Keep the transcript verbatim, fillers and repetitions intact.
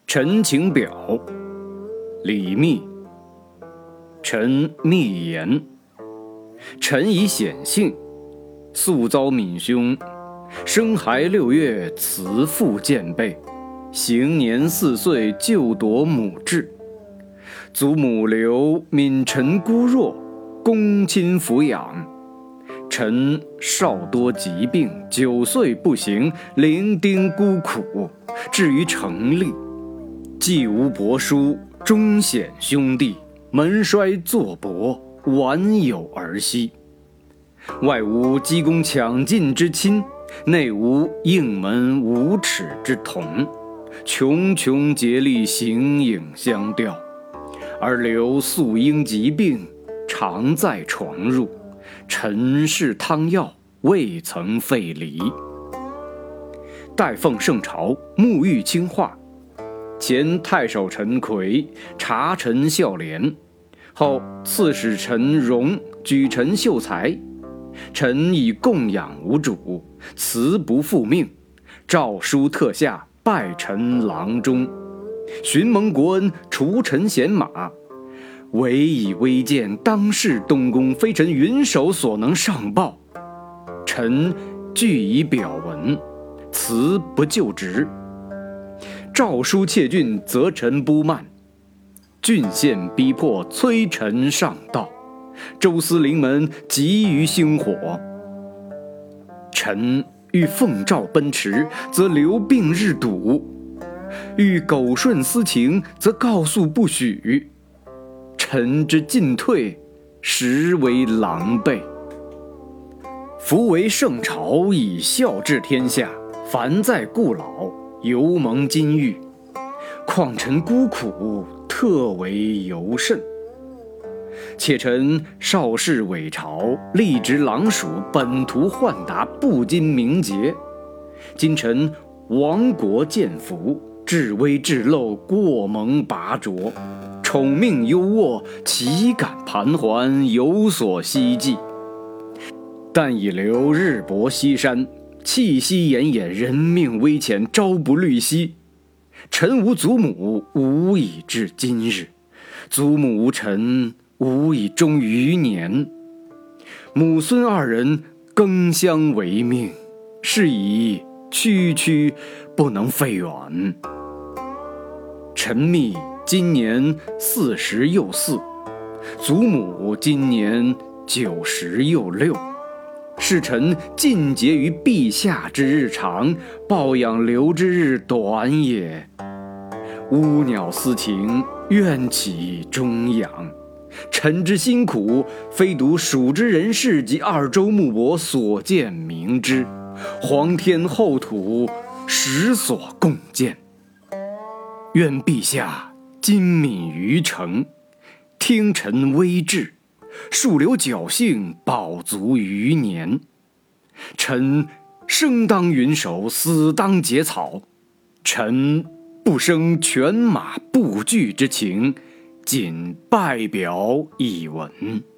陈情表，李密。臣密言：臣以显幸，素遭闵兄生孩六月，慈父见背，行年四岁，就夺母志。祖母留闵臣孤弱，公亲抚养。臣少多疾病，九岁不行，零丁孤苦，至于成立。既无伯叔，终显兄弟，门衰祚薄，晚有儿息。外无积功抢进之亲，内无应门无耻之童，穷穷竭力，形影相吊。而留素因疾病，常在床褥，陈氏汤药，未曾废离。待奉圣朝，沐浴清化。前太守陈奎察臣孝廉，后刺史陈荣举臣秀才。臣以供养无主，辞不复命，诏书特下，拜臣郎中。寻蒙国恩，除臣贤马。唯以微贱，当世东宫，非臣云手所能上报。臣据以表文，辞不就职。诏书窃郡，责臣不慢。郡县逼迫，催臣上道。周司临门，急于星火。臣欲奉诏奔驰，则留病日堵；欲苟顺私情，则告诉不许。臣之进退，实为狼狈。夫为圣朝，以孝治天下，凡在故老，犹蒙金玉。况臣孤苦，特为尤甚。且臣少侍伪朝，吏职郎署，本图宦达，不经名节。今臣亡国见福，至微至陋，过蒙拔擢。宠命优渥，岂敢盘桓，有所希冀。但以留日薄西山，气息奄奄，人命危浅，朝不虑夕。臣无祖母，无以至今日；祖母无臣，无以终余年。母孙二人，更相为命，是以区区不能废远。臣密今年四十又四，祖母今年九十又六。是臣尽节于陛下之日长，抱养留之日短也。乌鸟私情，怨岂终养？臣之辛苦，非独蜀之人士及二州牧伯所见明之，皇天厚土实所共见。愿陛下今敏于诚，听臣微志，树留侥幸，保足余年。臣生当云手，死当结草。臣不生犬马不惧之情，仅拜表以闻。